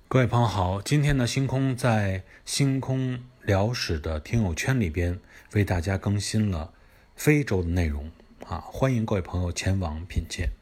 各位朋友好，今天呢，星空在星空聊史的听友圈里边为大家更新了非洲的内容啊，欢迎各位朋友前往品鉴。